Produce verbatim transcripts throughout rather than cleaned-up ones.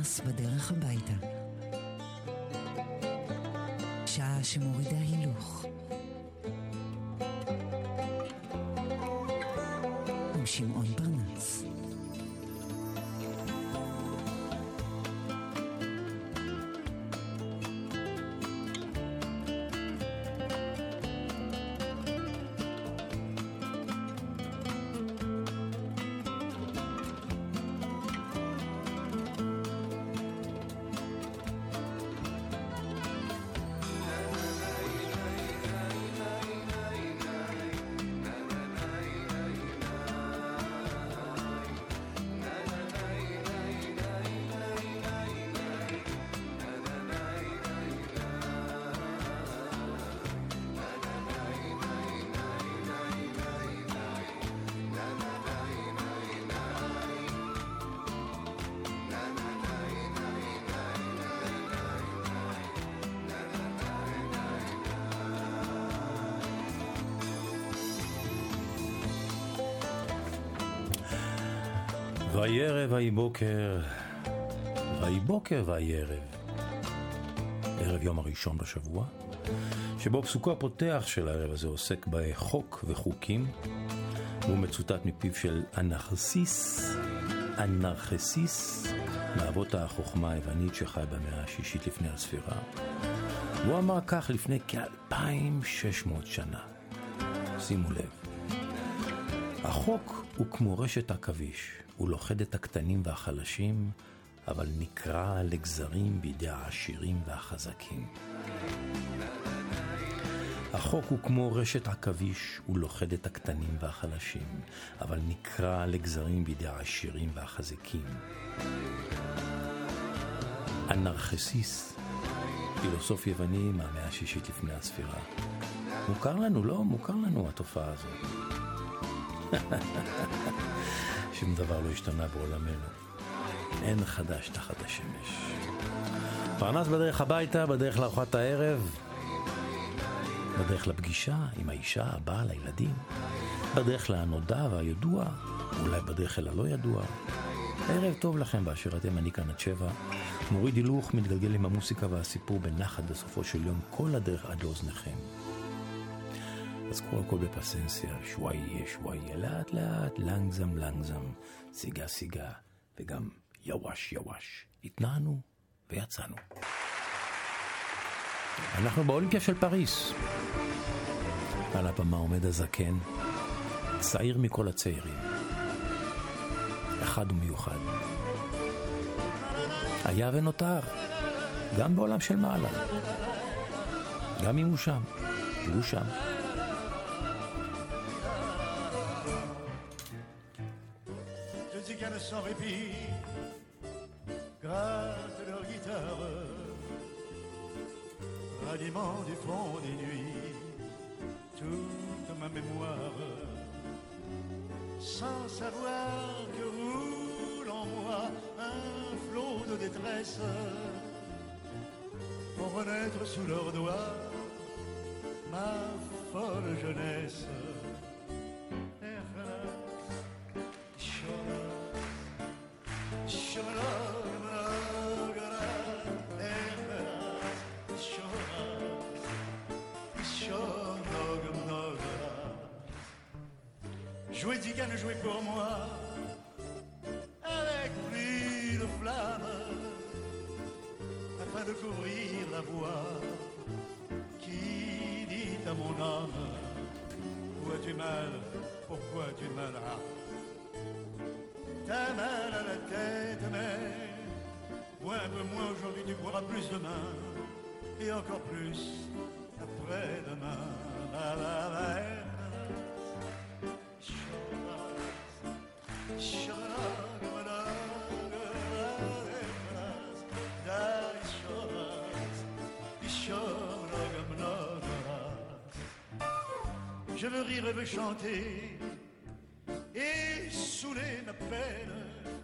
פרנס בדרך הביתה. שעה שמורידה הילוך. עם שמעון פרנס. ויהי ערב ויהי בוקר, ויהי בוקר ויהי ערב. ערב יום הראשון בשבוע, שבו פסוקו הפותח של הערב הזה עוסק בחוק וחוקים, והוא מצוטט מפיו של אנרכסיס, אנרכסיס, מאבות החוכמה היוונית שחי במאה השישית לפני הספירה. והוא אמר כך לפני כאלפיים ושש מאות שנה. שימו לב. החוק הוא כמו רשת עכביש, הוא לוכד את הקטנים והחלשים, אבל נקרע לגזרים בידי העשירים והחזקים. החוק הוא כמו רשת עכביש, הוא לוכד את הקטנים והחלשים, אבל נקרע לגזרים בידי העשירים והחזקים. אנרכסיס, פילוסוף יווני מהמאה השישית לפני הספירה. מוכר לנו, לא? מוכר לנו התופעה הזאת. שום דבר לא השתנה בעולמנו. אין חדש תחת השמש. פרנס בדרך הביתה, בדרך לארוחת הערב, בדרך לפגישה עם האישה, הבעל, הילדים, בדרך לנודע והידוע, אולי בדרך אל הלא ידוע. ערב טוב לכם באשר אתם, אני כאן עד שבע. מוריד הילוך, מתגלגל עם המוסיקה והסיפור בנחת בסופו של יום, כל הדרך עד לאוזניכם. אז קודם כל בפסנסיה, שוואיה, שוואיה, לאט לאט, לנגזם, לנגזם, סיגה, סיגה, וגם יווש, יווש. התנענו ויצאנו. אנחנו באולימפיה של פריס. על הבמה עומד הזקן, צעיר מכל הצעירים. אחד ומיוחד. היה ונותר, גם בעולם של מעלה. גם אם הוא שם, הוא שם. Sans répit, gratte leur guitare, ralliement du fond des nuits, toute ma mémoire, sans savoir que roule en moi un flot de détresse, pour renaître sous leurs doigts ma folle jeunesse. Jouez Zigane, jouez pour moi, avec pluie de flammes, afin de couvrir la voix qui dit à mon âme, où as-tu mal, pourquoi as-tu mal? Ah. T'as mal à la tête, mais moi un peu moins aujourd'hui, tu pourras plus demain, et encore plus après-demain. La, la, la, la. Je veux rire et veux chanter et saouler ma peine,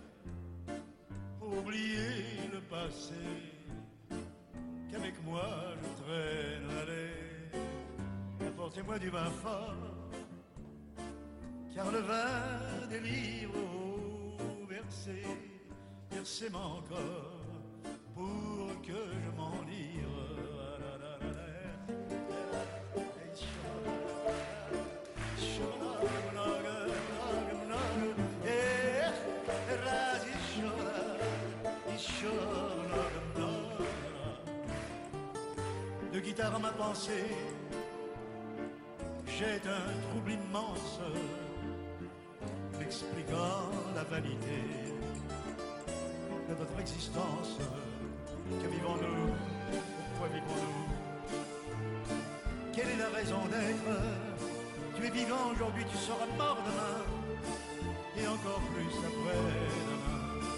oublier le passé qu'avec moi je traîne. Allez, apportez-moi du vin fort, car le vin délivre au versé, versez-moi encore pour que je m'enivre. De guitare à ma pensée, j'ai un trouble immense, m'expliquant la vanité de notre existence. Que vivons-nous? Pourquoi vivons-nous? Quelle est la raison d'être? Tu es vivant aujourd'hui, tu seras mort demain, et encore plus après-demain.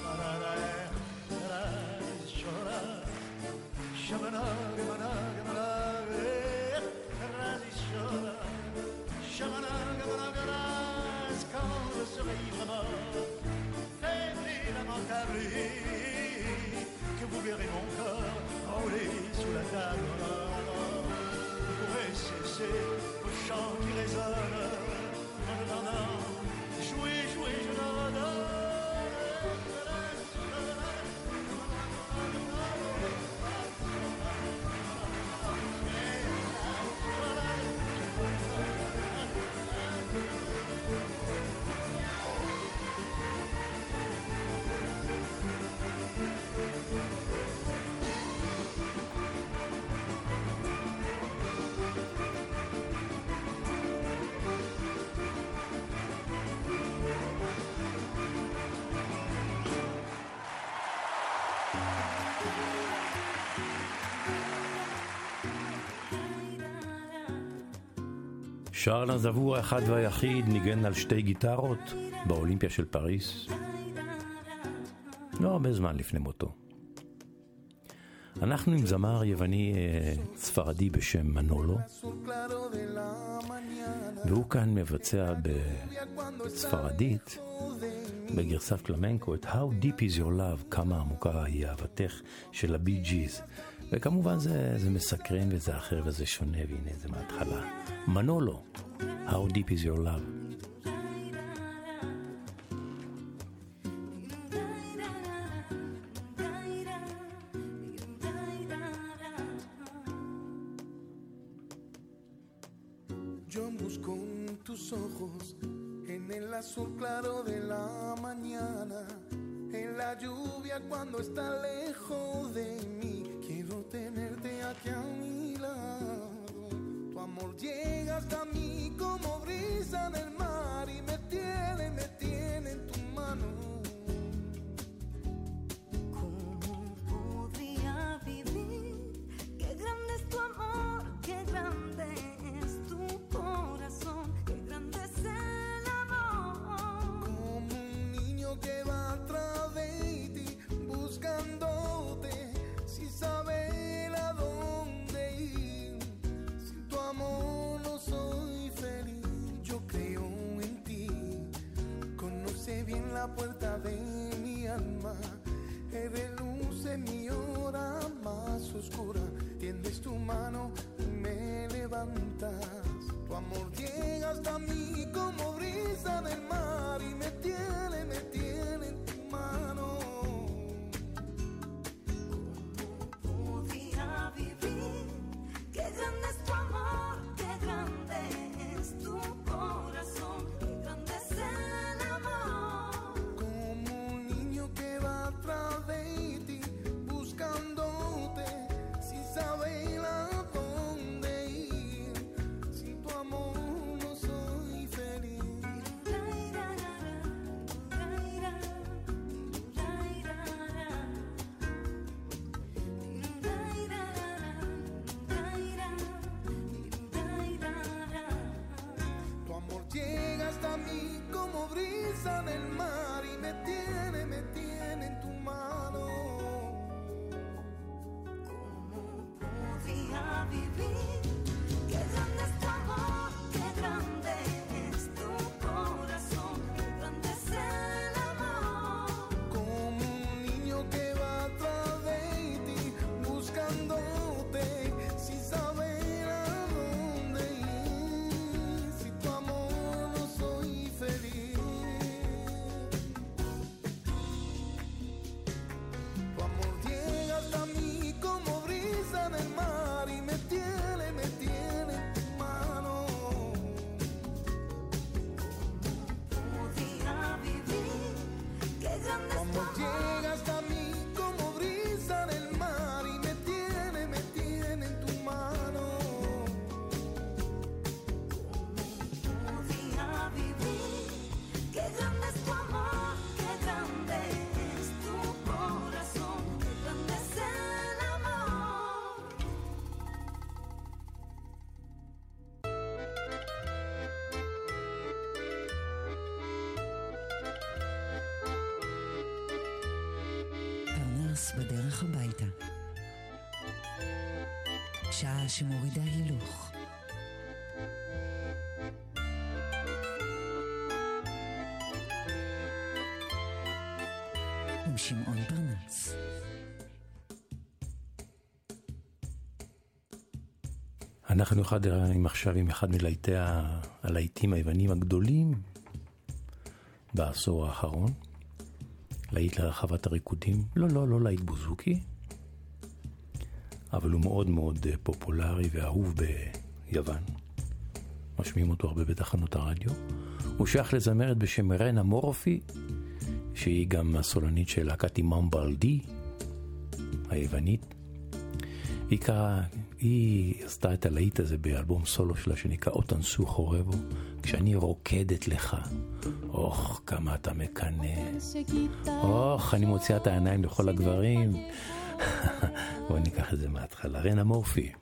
Quand je serai ivre faible et lamentable, que vous verrez mon corps rouler sous la table. Vous pourrez cesser vos chants qui résonnent en attendant. Jouez, jouez, je l'adore. שרל אזנבור האחד והיחיד ניגן על שתי גיטרות באולימפיה של פריס, לא הרבה זמן לפני מותו. אנחנו עם זמר יווני ספרדי בשם מנולו, והוא כאן מבצע בספרדית בגרסת פלמנקו את How Deep Is Your Love, כמה עמוקה היא אהבתך של הבי ג'יז. וכמובן זה, זה מסקרן וזה אחר וזה שונה, והנה זה מההתחלה. מנולו, How Deep Is Your Love. Yo busco en tus ojos, en el azul claro de la mañana, en la lluvia cuando está lejos de mí. Quiero tenerte aquí a mi lado. Tu amor llega hasta mí como brisa del mar y me tiene, me tiene en tu mano. ¿Cómo podría vivir? Qué grande es tu amor, qué grande es tu corazón, qué grande es el amor. Como un niño que va atrás de ti buscándote sin saber a dónde ir. Sin tu amor no soy feliz. Yo creo בדרך הביתה. שעה שמורידה הילוך. עם שמעון פרנס. אנחנו אחד, עם עכשיו עם אחד מלהיטי הלהיטים היוונים הגדולים בעשור האחרון. להיט לרחבת הריקודים, לא, לא, לא להיט בוזוקי, אבל הוא מאוד מאוד פופולרי ואהוב ביוון. משמיעים אותו הרבה בתחנות הרדיו. הוא שייך לזמרת בשם רנה מורפי, שהיא גם הסולנית של להקת אימאם בלדי, היוונית. היא, קרא, היא עשתה את הלהיט הזה באלבום סולו שלה שנקרא אותן סו חורבו, כשאני רוקדת לך. אוח, כמה אתה מקנה. אוח, אני מוציאה את העיניים לכל הגברים. בואו ניקח את זה מההתחלה. רנה מורפי.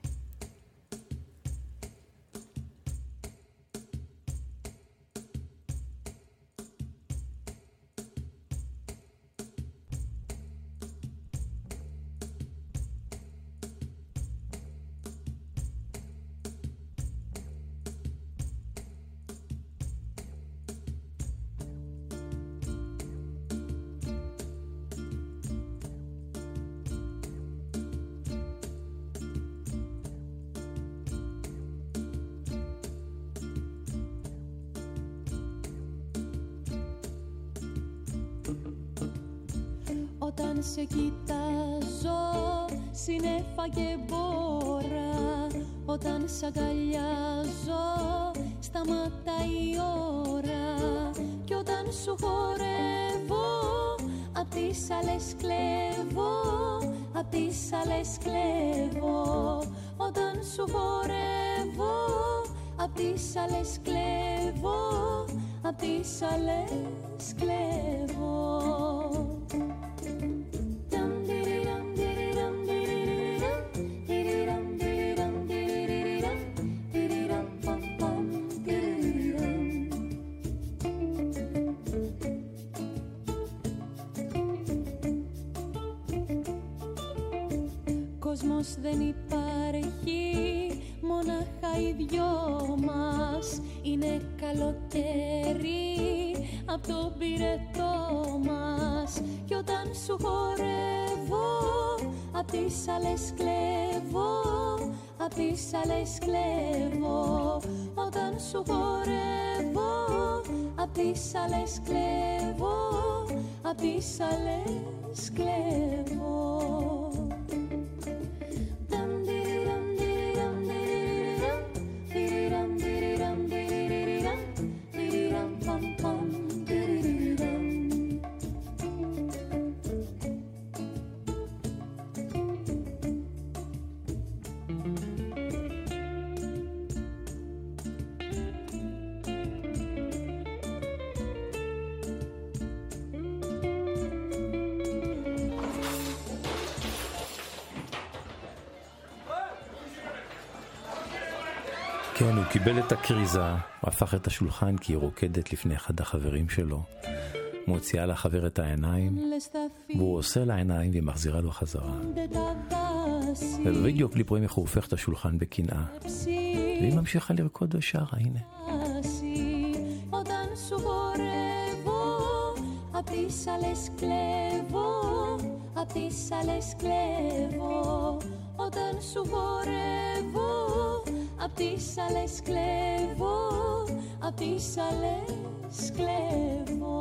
Όταν σε κοιτάζω συννέφα και μπόρα, όταν σ' αγκαλιάζω σταματάει η ώρα, κι όταν σου χορεύω απ' τις άλλες κλέβω, απ' τις άλλες κλέβω. Όταν σου χορεύω απ' τις άλλες κλέβω, απ' τις άλλες κλέβω. Κόσμος δεν υπάρχει, μόναχα οι δυο μας. Είναι καλοτέρι απ' το πυρετό μας. Κι όταν σου χορεύω απ' τις άλλες κλέβω, απ' τις άλλες κλέβω. Όταν σου χορεύω απ' τις άλλες κλέβω, απ' τις άλλες κλέβω. כן, הוא קיבל את הקריזה, הוא הפך את השולחן כי היא רוקדת לפני אחד החברים שלו, מוציאה לחבר את העיניים, והוא עושה לעיניים והיא מחזירה לו חזרה. ובווידאו קליפ רואים איך הוא הופך את השולחן בקנאה, והיא ממשיכה לרקוד ושרה, הנה. Απ' τις άλλες κλέβω, απ' τις άλλες κλέβω. Όταν σου χορεύω, απ' τις άλλες κλέβω, απ' τις άλλες κλέβω.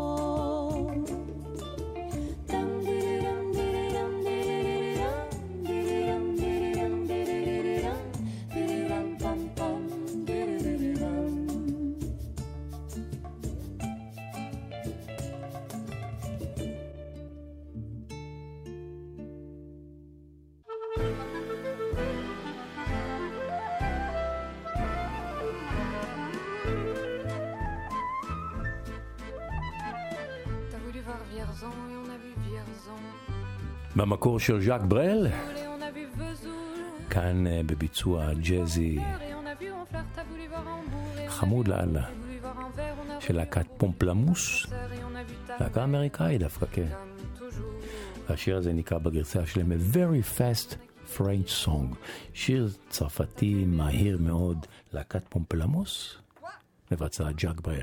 במקור של ז'אק ברל, כאן בביצוע ג'אזי חמוד לאללה של להקת פומפלמוס, להקה אמריקאית דווקא, כן. והשיר הזה נקרא בגרסה שלהם A Very Fast French Song, שיר צרפתי מהיר מאוד, להקת פומפלמוס, מבצע ז'אק ברל.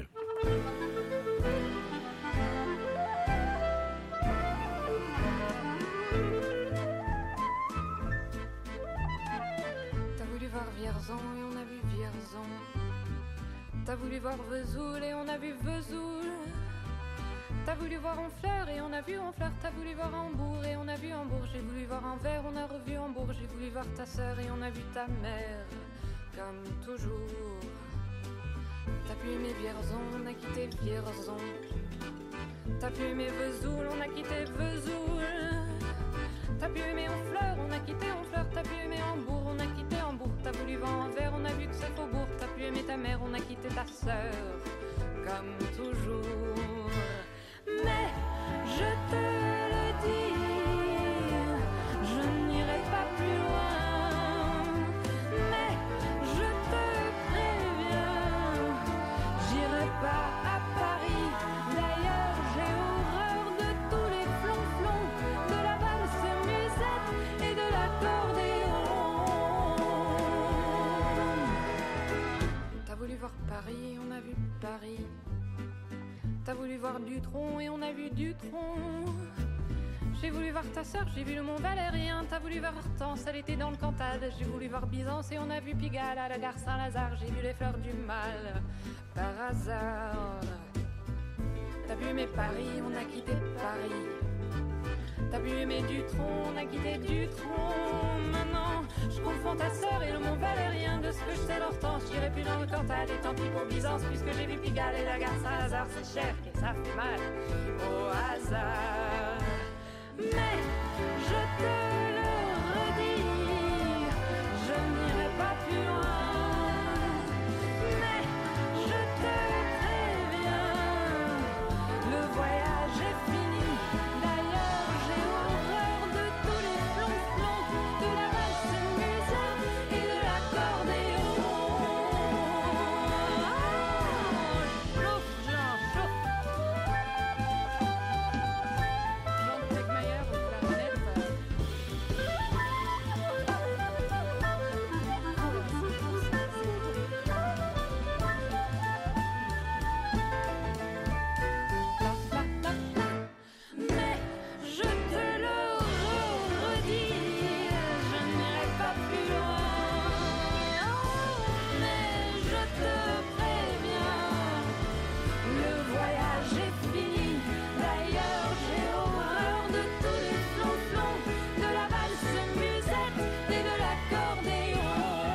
T'as voulu voir Vesoul et on a vu Vesoul. T'as voulu voir Honfleur et on a vu Honfleur. T'as voulu voir Hambourg et on a vu Hambourg. J'ai voulu voir Anvers, on a revu Hambourg. J'ai voulu voir ta sœur et on a vu ta mère. Comme toujours. T'as pu aimer Vierzon, on a quitté Vierzon. T'as pu aimer Vesoul, on a quitté Vesoul. T'as pu aimer Honfleur, on a quitté Honfleur. T'as pu aimer Hambourg, on a quitté Hambourg. T'as voulu voir Anvers, on a vu que c'est Faubourg. T'as pu aimer ta mère, on a quitté ta sœur. Comme toujours. Mais je te le dis, je n'irai pas plus loin. Mais je te préviens, j'irai pas à Paris. D'ailleurs, j'ai horreur de tous les flonflons, de la valse musette et de l'accordéon. T'as voulu voir Paris, on a vu Paris. T'as voulu voir Dutronc et on a vu Dutronc. J'ai voulu voir ta sœur, j'ai vu le Mont Valérien. T'as voulu voir Hortense, elle était dans le Cantal. J'ai voulu voir Byzance et on a vu Pigalle à la gare Saint-Lazare. J'ai vu les fleurs du mal par hasard. T'as pu aimer Paris, on a quitté Paris. T'as pu aimer Dutronc, on a quitté Dutronc. Maintenant, je confonds ta sœur et le Mont Valérien. De ce que je sais l'Hortense, j'irai plus dans le Cantal. Et tant pis pour Byzance, puisque j'ai vu Pigalle et la gare Saint-Lazare. C'est cher et ça fait mal au hasard. Mais je te le redis, je n'irai pas plus loin. Mais je te préviens, le voyage est fini. D'ailleurs, j'ai horreur de tous les flonflons, de la valse musette et de l'accordéon. Oh, chauffe, Jean, chauffe. Jean de Tegmayer au clarinette. Mais je te le redis, je n'irai pas plus loin. Mais je te préviens, le voyage est fini. D'ailleurs, j'ai horreur de tous les flonflons, de la valse musette et de l'accordéon.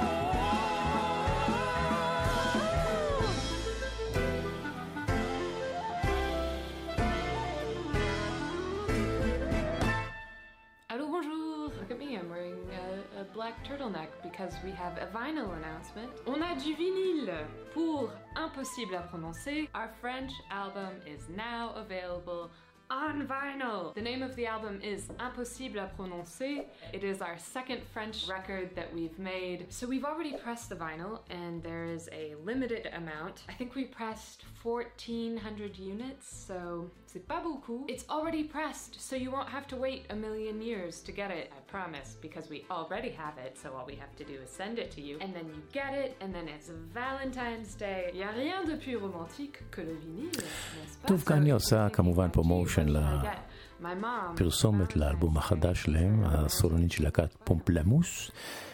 Hello, bonjour. Look at me, I'm wearing a, a black turtleneck because we have a vinyl announcement. On a du vinyle pour Impossible à prononcer. Our French album is now available on vinyl. The name of the album is Impossible à prononcer. It is our second French record that we've made. So we've already pressed the vinyl and there is a limited amount. I think we pressed fourteen hundred units, so c'est pas beaucoup. It's already pressed, so you won't have to wait a million years to get it, I promise, because we already have it, so all we have to do is send it to you, and then you get it, and then it's Valentine's Day. Y a rien de plus romantique que le vinyle, n'est-ce pas? טוב, כאן אני עושה כמובן פרומושן לפרסומת לאלבום החדש שלהם, הסולנית של להקת פומפלמוס,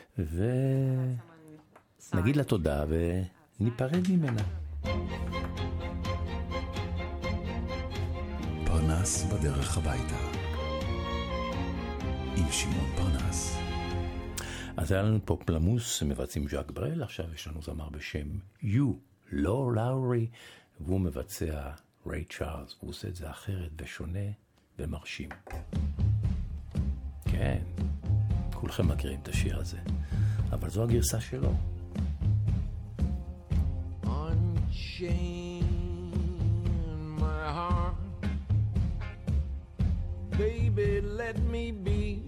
ונגיד לה תודה וניפרד ממנה. פרנס בדרך הביתה עם שמעון פרנס. אז היה לנו פומפלמוס מבצעים ז'אק ברל, עכשיו יש לנו זמר בשם יו לא לאורי, והוא מבצע ריי צ'ארלס, והוא עושה את זה אחרת ושונה ומרשים. כן, כולכם מכירים את השיר הזה, אבל זו הגרסה שלו. Unchain my heart, baby, let me be.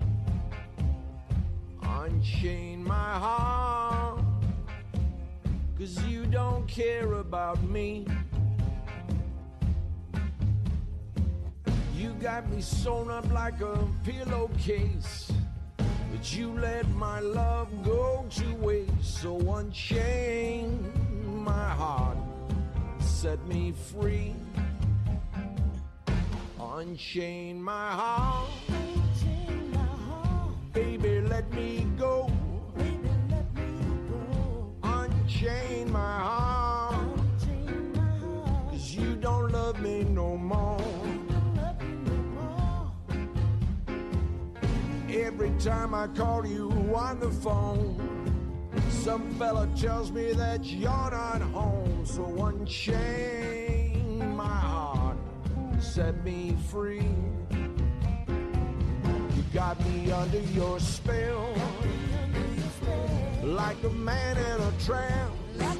Unchain my heart, 'cause you don't care about me. You got me sewn up like a pillowcase, but you let my love go to waste. So unchain my heart, set me free. Unchain my heart, baby, let me go. Unchain my heart, 'cause you don't love me no more. Every time I call you on the phone, some fella tells me that you're not home. So unchain my heart, set me free. You got me under your spell, like a man in a trance.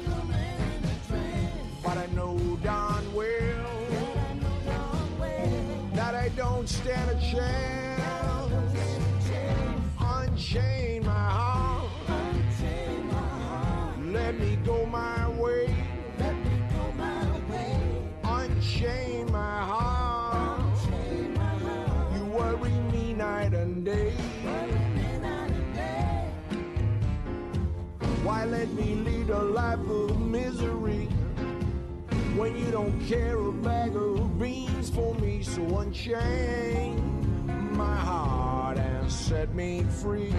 But I know darn well that I don't stand a chance. Unchain my heart, let me go my way. Unchain my heart, you worry me night and day. Why let me lead a life of misery when you don't care a bag of beans for me? So unchain my heart and set me free.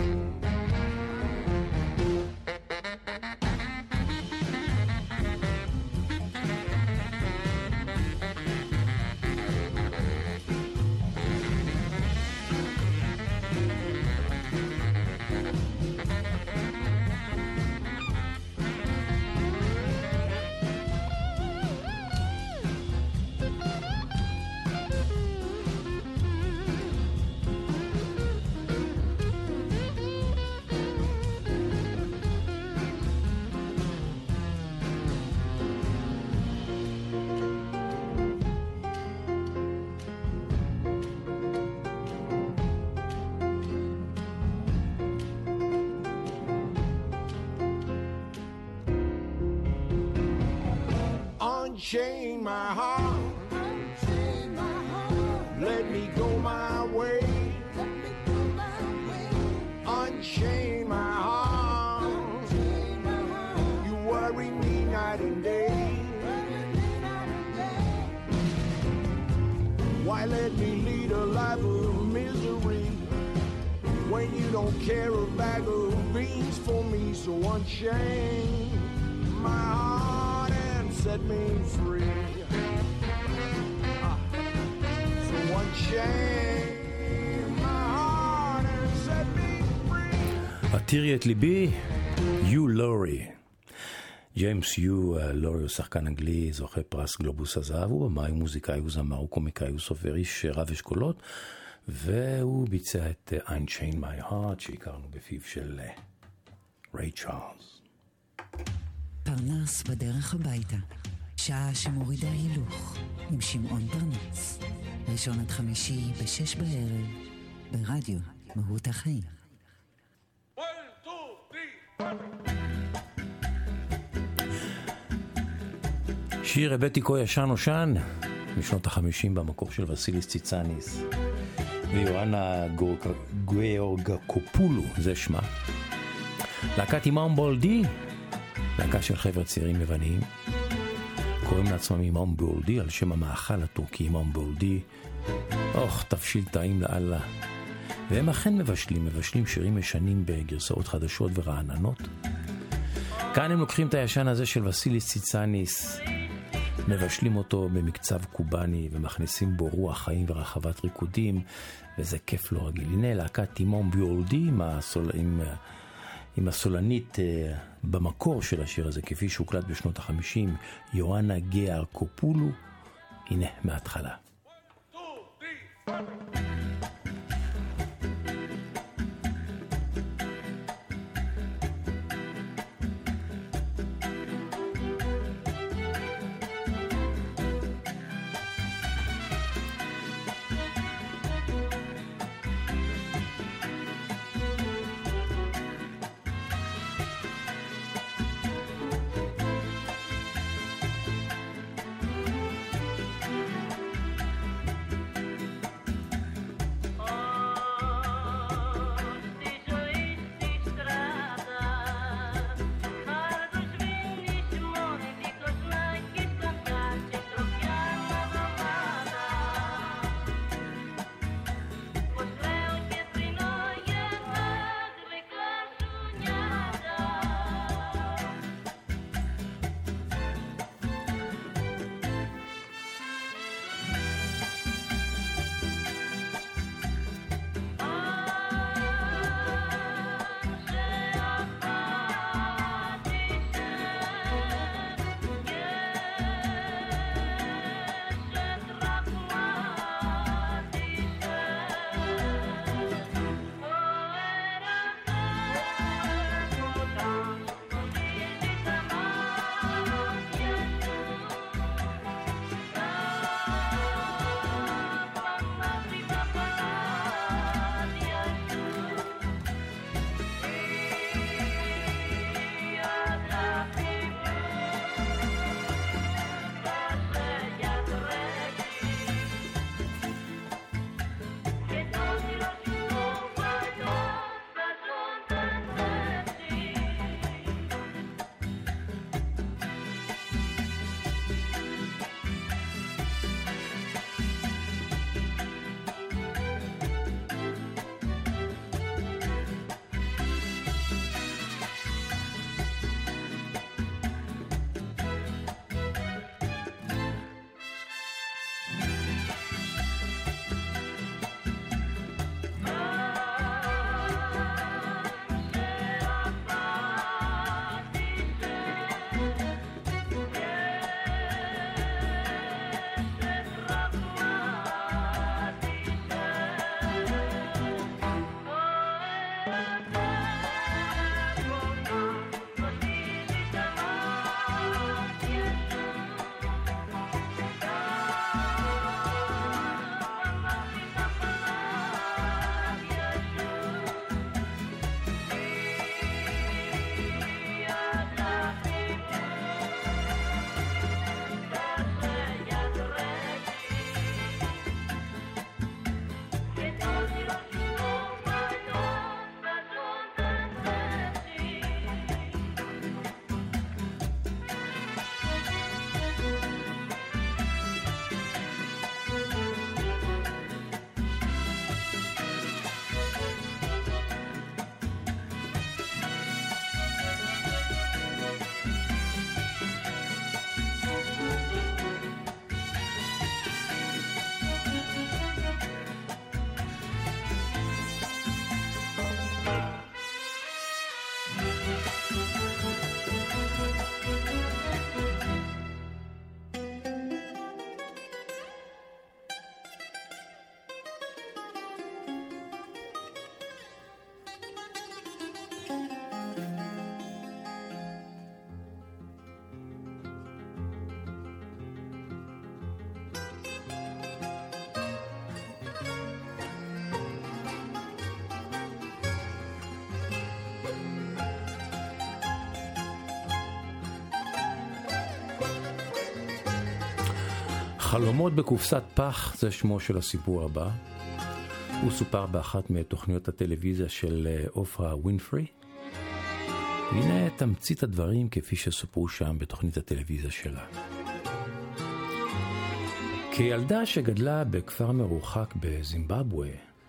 Unchain my heart, let me go my way. Unchain my heart, you worry me night and day. Why let me lead a life of misery when you don't care a bag of beans for me? So unchain my heart and set me free. So unchain my heart and set me free. עתירי את ליבי, יו לורי. ג'יימס יו לורי הוא שחקן אנגלי, זוכה פרס גלובוס הזהב, הוא במאי, מוזיקאי, הוא זמר, הוא קומיקאי, הוא סופר, איש רב אשכולות, והוא ביצע את Unchain My Heart שהכרנו בפיו של ריי צ'ארלס. פרנס בדרך הביתה, שעה שמורידה הילוך, עם שמעון פרנס. ראשון עד חמישי בשש בערב, ברדיו מהות החיים. שיר הבאתי כה ישן נושן, משנות החמישים במקור של וסיליס ציצאניס, ויואנה גאורגקופולו, זה שמה. להקת אימאם בולדי, להקה של חבר'ה צעירים לבנים, קוראים לעצמם אימאם בולדי על שם המאכל הטורקי אימאם בולדי. אוח, תבשיל טעים לאללה. והם אכן מבשלים, מבשלים שירים ישנים בגרסאות חדשות ורעננות. כאן הם לוקחים את הישן הזה של וסיליס ציצאניס, מבשלים אותו במקצב קובני ומכניסים בו רוח חיים ורחבת ריקודים, וזה כיף לא רגיל. הנה להקת אימאם בולדי עם, הסול... עם... עם הסולנית uh, במקור של השיר הזה, כפי שהוקלט בשנות החמישים, יואנה גאורגקופולו. הנה מההתחלה. חלומות בקופסת פח זה שמו של הסיפור הבא. הוא סופר באחת מתוכניות הטלוויזיה של אופרה ווינפרי. הנה תמצית הדברים כפי שסופרו שם בתוכנית הטלוויזיה שלה. כילדה שגדלה בכפר מרוחק בזימבבואה,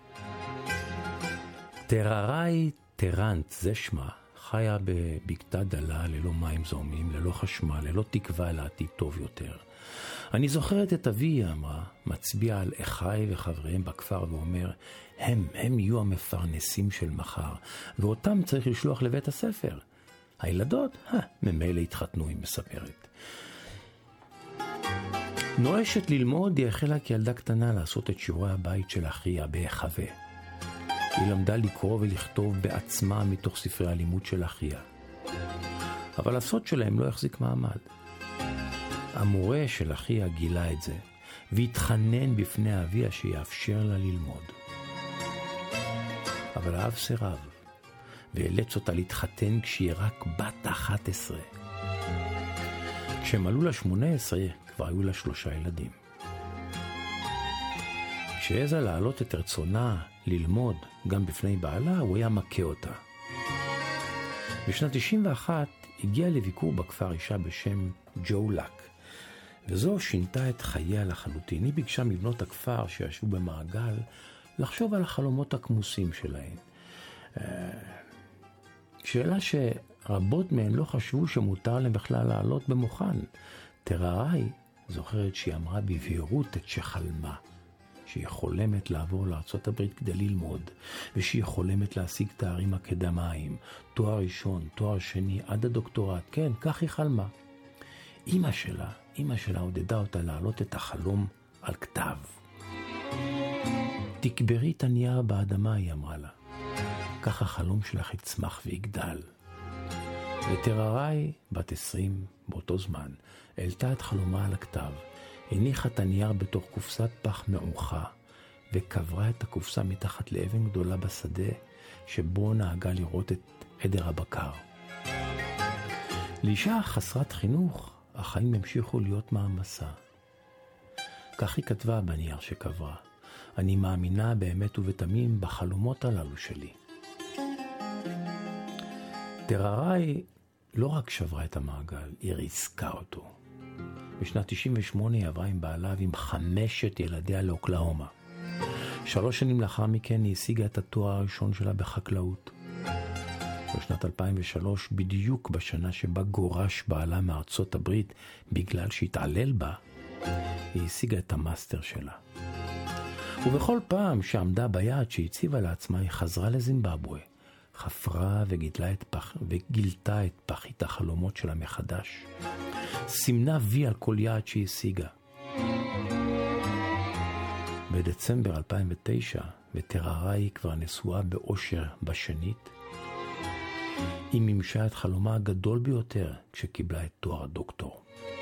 טרראי טרנט, זה שמה, חיה בבקתה דלה ללא מים זורמים, ללא חשמל, ללא תקווה לעתיד טוב יותר. אני זוכרת את אבי, היא אמרה, מצביע על אחי וחבריהם בכפר ואומר, הם, הם יהיו המפרנסים של מחר, ואותם צריך לשלוח לבית הספר. הילדות, אה, ממילא התחתנו, היא מספרת. נואשת ללמוד, היא החלה כילדה קטנה לעשות את שיעורי הבית של אחיה בהחווה. היא למדה לקרוא ולכתוב בעצמה מתוך ספרי הלימוד של אחיה. אבל הסוד שלהם לא החזיק מעמד. המורה של אחיה גילה את זה, והתחנן בפני אביה שיאפשר לה ללמוד. אבל האב סירב, ואילץ אותה להתחתן כשהיא רק בת אחת עשרה. כשהם עלו לה שמונה עשרה, כבר היו לה שלושה ילדים. כשהעזה להעלות את רצונה ללמוד גם בפני בעלה, הוא היה מכה אותה. בשנת תשעים ואחת הגיעה לביקור בכפר אישה בשם ג'ו לק, וזו שינתה את חייה לחלוטין. היא ביקשה מבנות הכפר שישבו במעגל לחשוב על החלומות הכמוסים שלהן. שאלה שרבות מהן לא חשבו שמותר להם בכלל לעלות במוכן. טרראי זוכרת שהיא אמרה בבהירות את שחלמה, שהיא חולמת לעבור לארצות הברית כדי ללמוד, ושהיא חולמת להשיג תארים אקדמיים, תואר ראשון, תואר שני, עד הדוקטורט. כן, כך היא חלמה. אמא שלה, אמא שלה עודדה אותה להעלות את החלום על כתב. תקברי את הנייר באדמה, היא אמרה לה. כך החלום שלך יצמח ויגדל. וטרראי, בת עשרים, באותו זמן, העלתה את חלומה על הכתב, הניחה את הנייר בתוך קופסת פח מעוכה, וקברה את הקופסה מתחת לאבן גדולה בשדה, שבו נהגה לראות את עדר הבקר. לאישה חסרת חינוך, החיים המשיכו להיות מעמסה. כך היא כתבה בנייר שקברה, אני מאמינה באמת ובתמים בחלומות הללו שלי. טרראי לא רק שברה את המעגל, היא ריסקה אותו. בשנת תשעים ושמונה היא עברה עם בעלה ועם חמשת ילדיה לאוקלהומה. שלוש שנים לאחר מכן היא השיגה את התואר הראשון שלה בחקלאות. בשנת אלפיים ושלוש, בדיוק בשנה שבה גורש בעלה מארצות הברית בגלל שהתעלל בה, היא השיגה את המאסטר שלה. ובכל פעם שעמדה ביעד שהציבה לעצמה, היא חזרה לזימבבואה, חפרה וגילתה את, פח, וגילתה את פחית החלומות שלה מחדש. סימנה וי על כל יעד שהיא השיגה. בדצמבר אלפיים ותשע, וטררה כבר נשואה באושר בשנית. היא מימשה את חלומה הגדול ביותר כשקיבלה את תואר הדוקטור.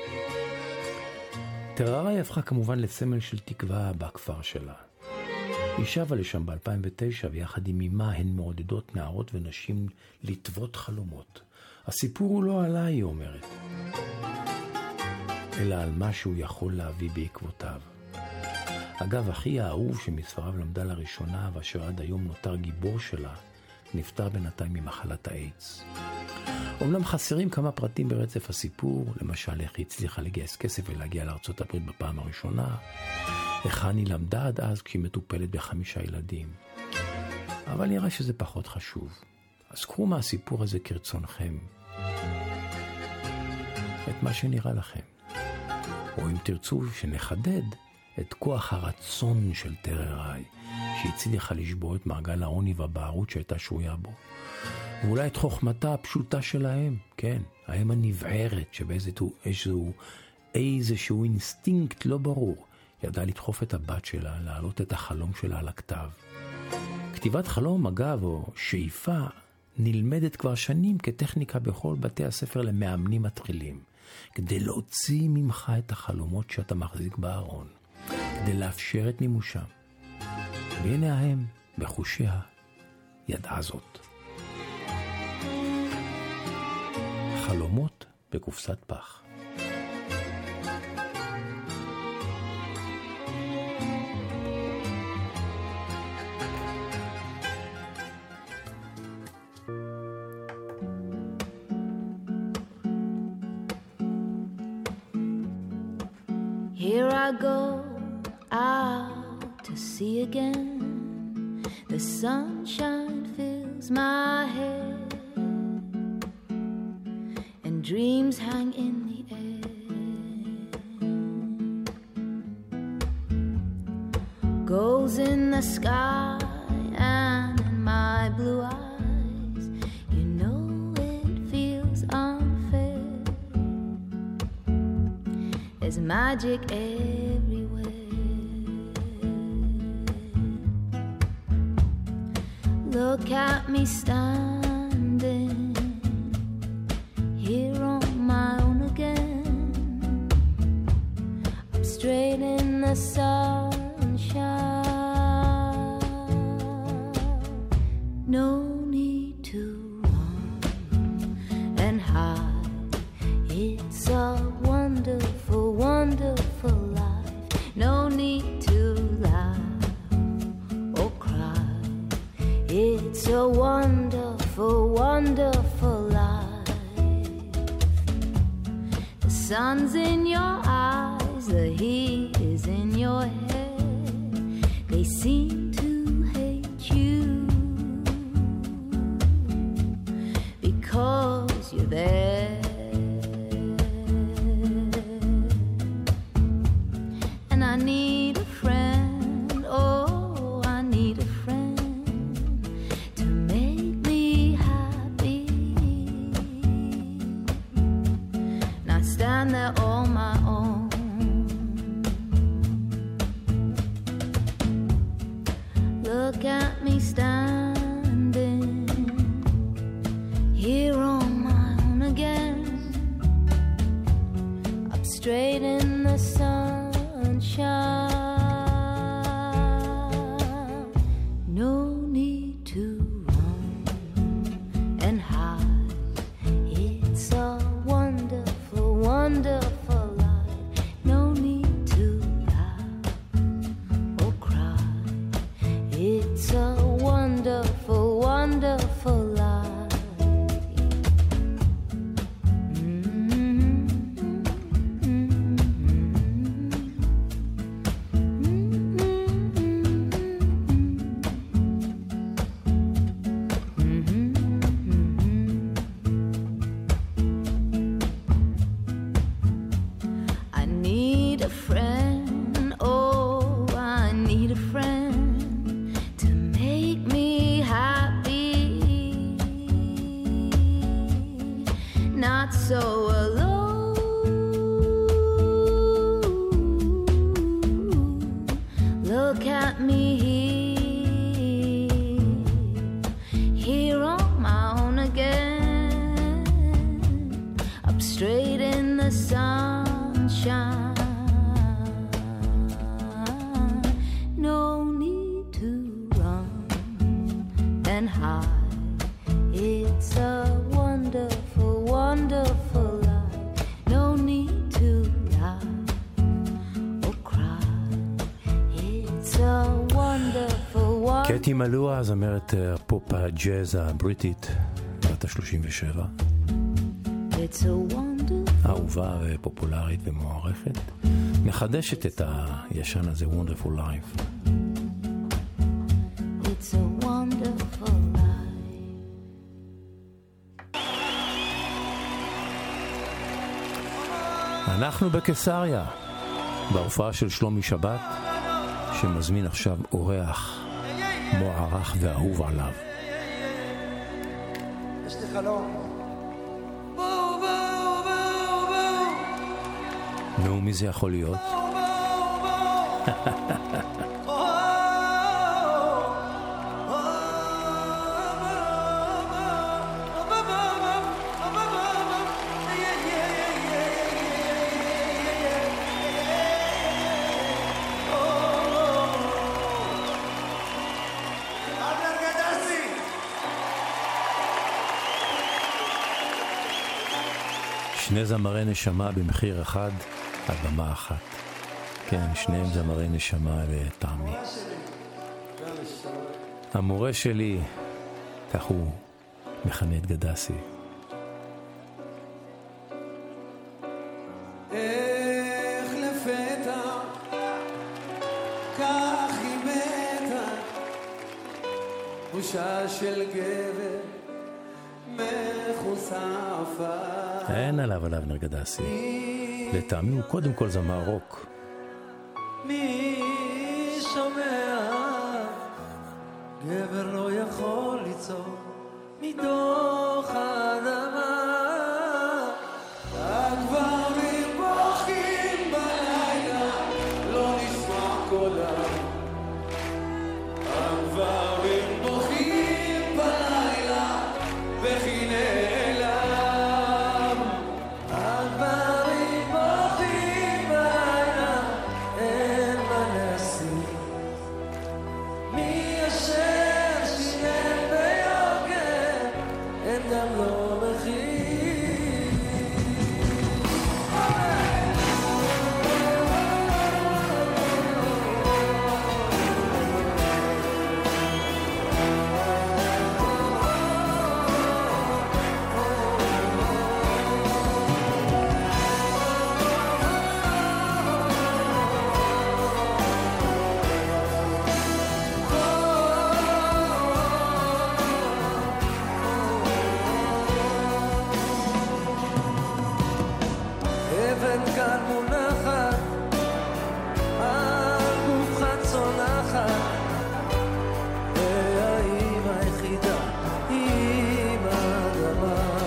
טררה הפכה כמובן לסמל של תקווה בכפר שלה. היא שבה לשם ב-אלפיים ותשע, ויחד עם אמה הן מעודדות נערות ונשים לטוות חלומות. הסיפור הוא לא עליי, היא אומרת, אלא על מה שהוא יכול להביא בעקבותיו. אגב, אחי האהוב שמספריו למדה לראשונה, ואשר עד היום נותר גיבור שלה, נפטר בינתיים ממחלת האיידס. אומנם חסרים כמה פרטים ברצף הסיפור, למשל איך היא הצליחה לגייס כסף ולהגיע לארצות הברית בפעם הראשונה, היכן היא למדה עד אז כשהיא מטופלת בחמישה ילדים. אבל נראה שזה פחות חשוב. אז קחו מהסיפור הזה כרצונכם את מה שנראה לכם. או אם תרצו שנחדד את כוח הרצון של טררה, שהצליחה לשבור את מעגל העוני והבערות שהייתה שרויה בו. ואולי את חוכמתה הפשוטה שלהם, כן, האם הנבערת שבאיזשהו איזשהו, איזשהו אינסטינקט לא ברור, ידעה לדחוף את הבת שלה, להעלות את החלום שלה על הכתב. כתיבת חלום, אגב, או שאיפה, נלמדת כבר שנים כטכניקה בכל בתי הספר למאמנים מתחילים, כדי להוציא ממך את החלומות שאתה מחזיק בארון, כדי לאפשר את מימושם. והנה ההם, בחושיה, ידעה זאת. חלומות בקופסת פח. Here I go out to sea again. The sunshine fills my head, and dreams hang in the air. Goals in the sky and in my blue eyes. You know it feels unfair. There's magic everywhere. Look at me standing here on my own again. I'm straight in the sunshine. No need to run and hide. It's a wonderful, wonderful life. No need to laugh or cry. It's a wonderful, wonderful life. The sun's in your eyes, the heat is in your head. They seem to hate you because you're there. And I need a friend, oh, I need a friend to make me happy. Not stand there on my own. Look at me standing here on my own again. Up straight in the sunshine. No need to run and hide. It's a wonderful, wonderful life. No need to laugh or cry. It's a wonderful, wonderful life. I need a friend, oh, I need a friend to make me happy. Not so alone. Look at me here. sunshine. No need to run and hide. It's a wonderful, wonderful life. No need to lie or cry. It's a wonderful, wonderful. קטי מלואה, זמרת הפופ הג'אז הבריטית, בת ה-שלושים ושבע. It's a wonderful. אהובה ופופולרית ומוערכת. מחדשת את הישן הזה, Wonderful Life. It's a wonderful life. אנחנו בקיסריה, בהופעה של שלומי שבת, שמזמין עכשיו אורח מוערך ואהוב עליו. יש לי חלום. נו, מי זה יכול להיות? שני זמרי נשמה במחיר אחד על במה אחת. כן, שניהם זמרי נשמה לטעמי. המורה שלי, כך הוא מכנה את גדסי. איך לפתע כך היא מתה, בושה של גבר מחוספה. אין עליו עליו נרגדסי. לטעמי הוא קודם כל זמר רוק. מי שומע? גבר לא יכול ליצור מתוך האדמה. הגברים בוכים בלילה, לא נשמע קולם. הגברים בוכים בלילה, וכי נעלם. הגברים בוכים בלילה, אין מה להשיג. מי אשר שילם ביוקר, אין גם לא מחיר. אבן כאן מונחת, על גופך צונחת, והאימא היחידה, אימא אדמה.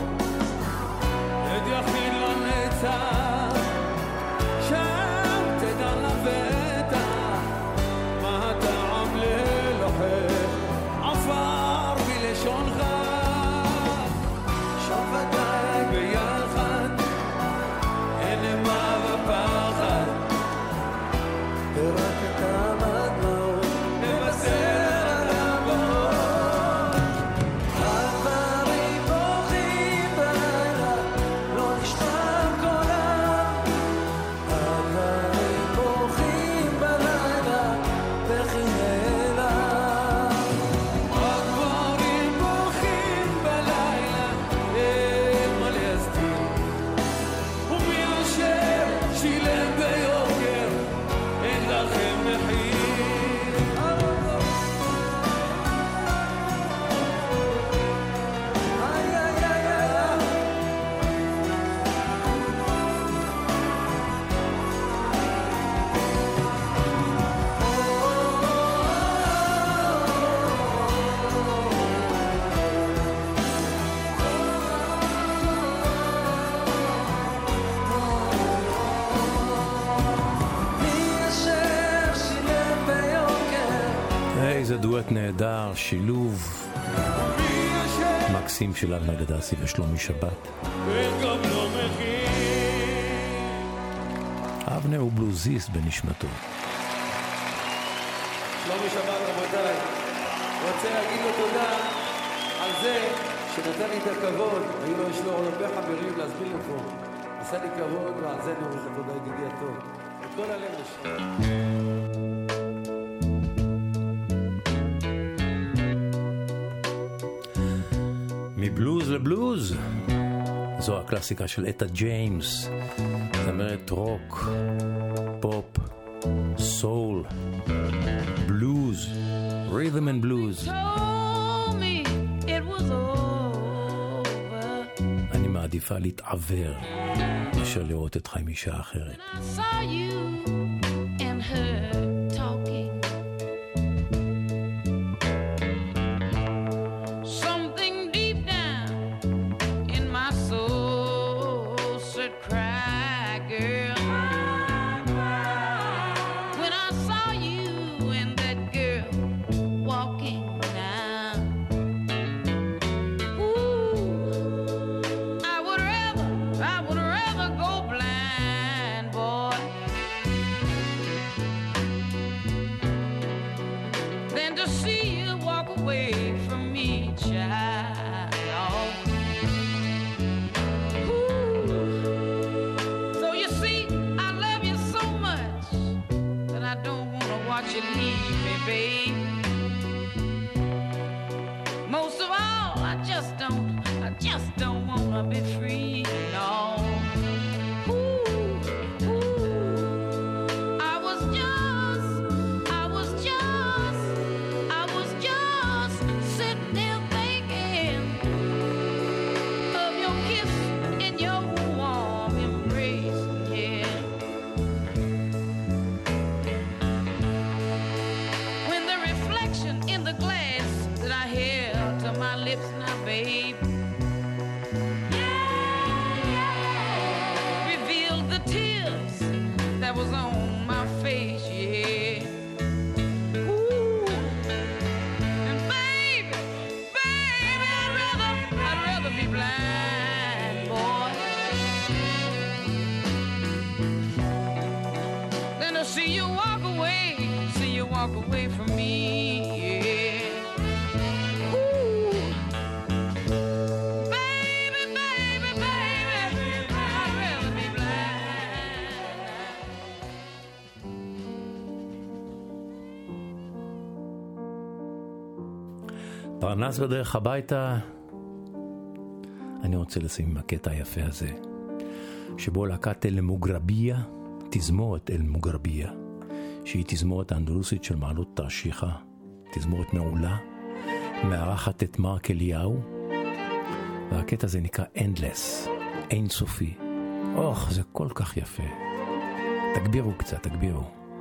עד יחיד לנצח, שם תדע לבטח, מה הטעם ללוחם, עפר בלשונך, שוב ודאי ביחד, אין מה בפחד, ורק את המדמעות נבשר על הבאות. הגברים בוכים בלילה, לא נשמע קולם. הגברים בוכים בלילה, וכי נעלם. הגברים בוכים בלילה, אין מה להסתיר. ומי אשר שילם ביוקר, אין לכם מחיר. איי איי איי איי מי אשר שילם ביוקר, איזה דואט נהדר, שילוב מי אשר מקסים של אבנר גדסי ושלומי שבת. אין גם לא מחיר. אבנר הוא בלוזיסט בנשמתו. שלומי שבת רבותיי, רוצה להגיד לו תודה על זה שנתן לי את הכבוד, היו לו יש לו הרבה חברים להסביר לו פה, עשה לי כבוד ועל זה נוריד את התודה ידידי הטוב, את כל הלב לשם. מבלוז לבלוז, זו הקלאסיקה של אטה ג'יימס, זמרת רוק, פופ, סול, בלוז, רית'ם אנד בלוז. אני מעדיפה להתעבר מאשר לראות את חיים אישה אחרת. פרנס בדרך הביתה, אני רוצה לשים עם הקטע היפה הזה, שבו להקת אל מוגרביה, תזמורת אל מוגרביה, שהיא תזמורת האנדלוסית של מעלות תרשיחא, תזמורת מעולה, מארחת את מרק אליהו, והקטע הזה נקרא Endless, אינסופי. אוח, זה כל כך יפה. תגבירו קצת, תגבירו.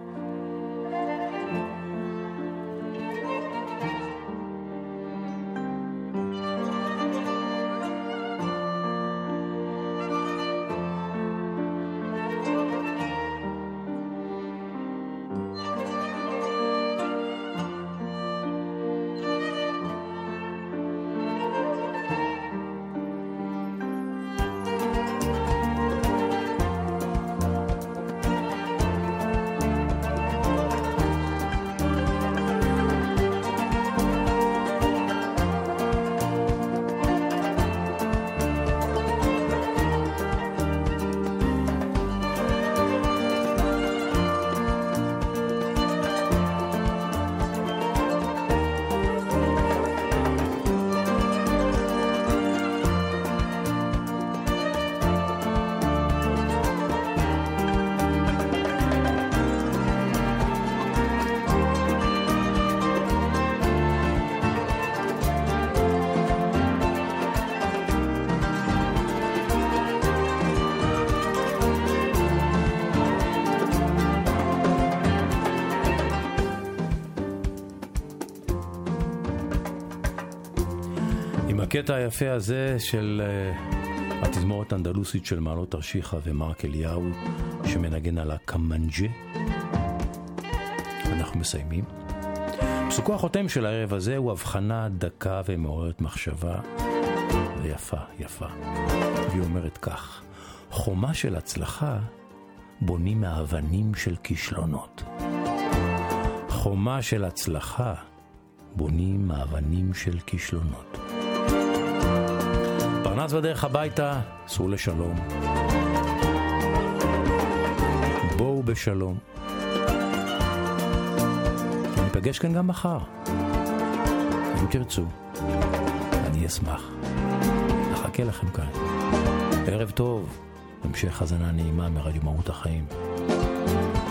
הקטע היפה הזה של uh, התזמורת האנדלוסית של מעלות תרשיחא ומרק אליהו שמנגן על הקמנג'ה, אנחנו מסיימים. פסוקו החותם של הערב הזה הוא הבחנה דקה ומעוררת מחשבה ויפה, יפה. והיא אומרת כך: חומה של הצלחה בונים מאבנים של כישלונות. חומה של הצלחה בונים מאבנים של כישלונות. פרנס בדרך הביתה, סעו לשלום. בואו בשלום. ניפגש כאן גם מחר. אם תרצו, אני אשמח. נחכה לכם כאן. ערב טוב, המשך חזנה נעימה מרדיו מהות החיים.